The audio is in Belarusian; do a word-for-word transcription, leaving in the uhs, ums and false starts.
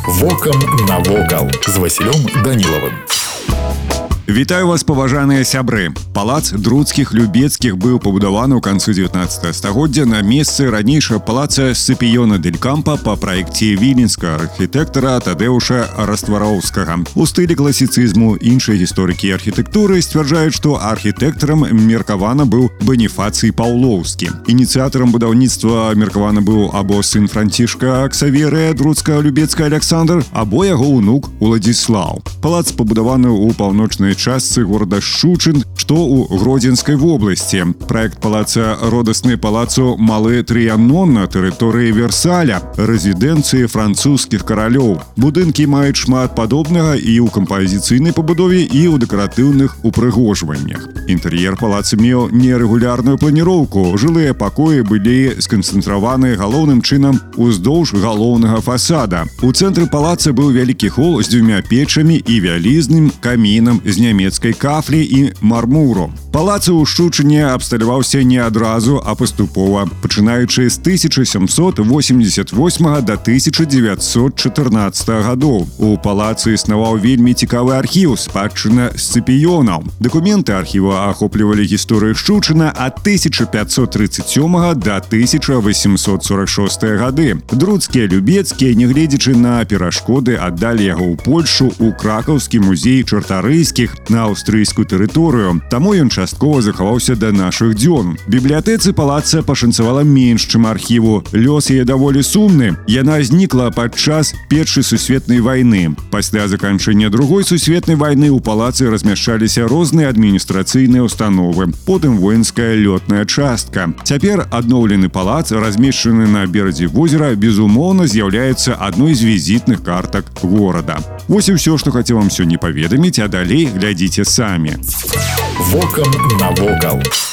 Вокам навокал з Васілём Данілавым. Вітаю вас, паважаныя сябры. Палац друцкіх Любецкіх быў пабудаваны ў канцы дзевятнаццатага стагоддзя на месцы ранейшага палаца Сципиона дель Кампо па праекце віленскага архітэктара Тадэуша Раствароўскага. У стылі класіцызму іншыя гісторыкі архітэктуры сцвярджаюць, што архітэктарам меркавана быў Баніфацый Паўлоўскі. Ініцыятарам будаўніцтва меркавана быў або сын Францішка Ксаверыя Друцка-Любецка Александр, або яго ўнук Уладзіслаў. Палац пабудаваны ў паўночнай частцы горада Шчучын, што ў Гродзенскай вобласці. Праект палаца родасны палацу Малы Трыянон на тэрыторыі Версаля, рэзідэнцыі французскіх каралёў. Будынкі маюць шмат падобнага і ў кампазіцыйнай пабудове, і ў дэкаратыўных упрыгожваннях. Інтэр'ер палаца меў нерэгулярную планіроўку. Жылыя пакоі былі сканцэнтраваны галоўным чынам уздоўж галоўнага фасада. У цэнтры палаца быў вялікі хол з дзвюма печамі і вялізным камінам з нямецкай кафлі і мармуру. Палац у Шчучыне абсталяваўся не адразу, а паступова, пачынаючы з тысяча сямсот восемьдесят восьмага да тысяча дзевяцьсот чатырнаццатага гадоў. У палацы існаваў вельмі цікавы архіў спадчына Сципіёнаў. Дакументы архіва ахоплівалі гісторыю Шчучына ад тысяча пятьсот тридцать сёмага да тысяча восемьсот сорок шостага гады. Друцкія Любецкія, нягледзячы на перашкоды, аддалі яго ў Польшу, у Кракаўскі музей чартарыйскіх, на аўстрыйскую тэрыторыю. Таму ён часткова захаваўся да нашых дзён. Бібліятэцы палаца пашанцавала менш, чым архіву. Лёс яе даволі сумны. Яна знікла падчас Першай сусветнай вайны. Пасля заканчэння Другой сусветнай вайны ў палацы размяшчаліся розныя адміністрацыйныя установы, потым воінская лётная частка. Цяпер адноўлены палац, размешчаны на беразе возера, безумоўна з'яўляецца адной з візітных картак горада. Вось і ўсё, што хацеў вам сёння паведаміць, а далей глядзіце самі. Вокам навокал.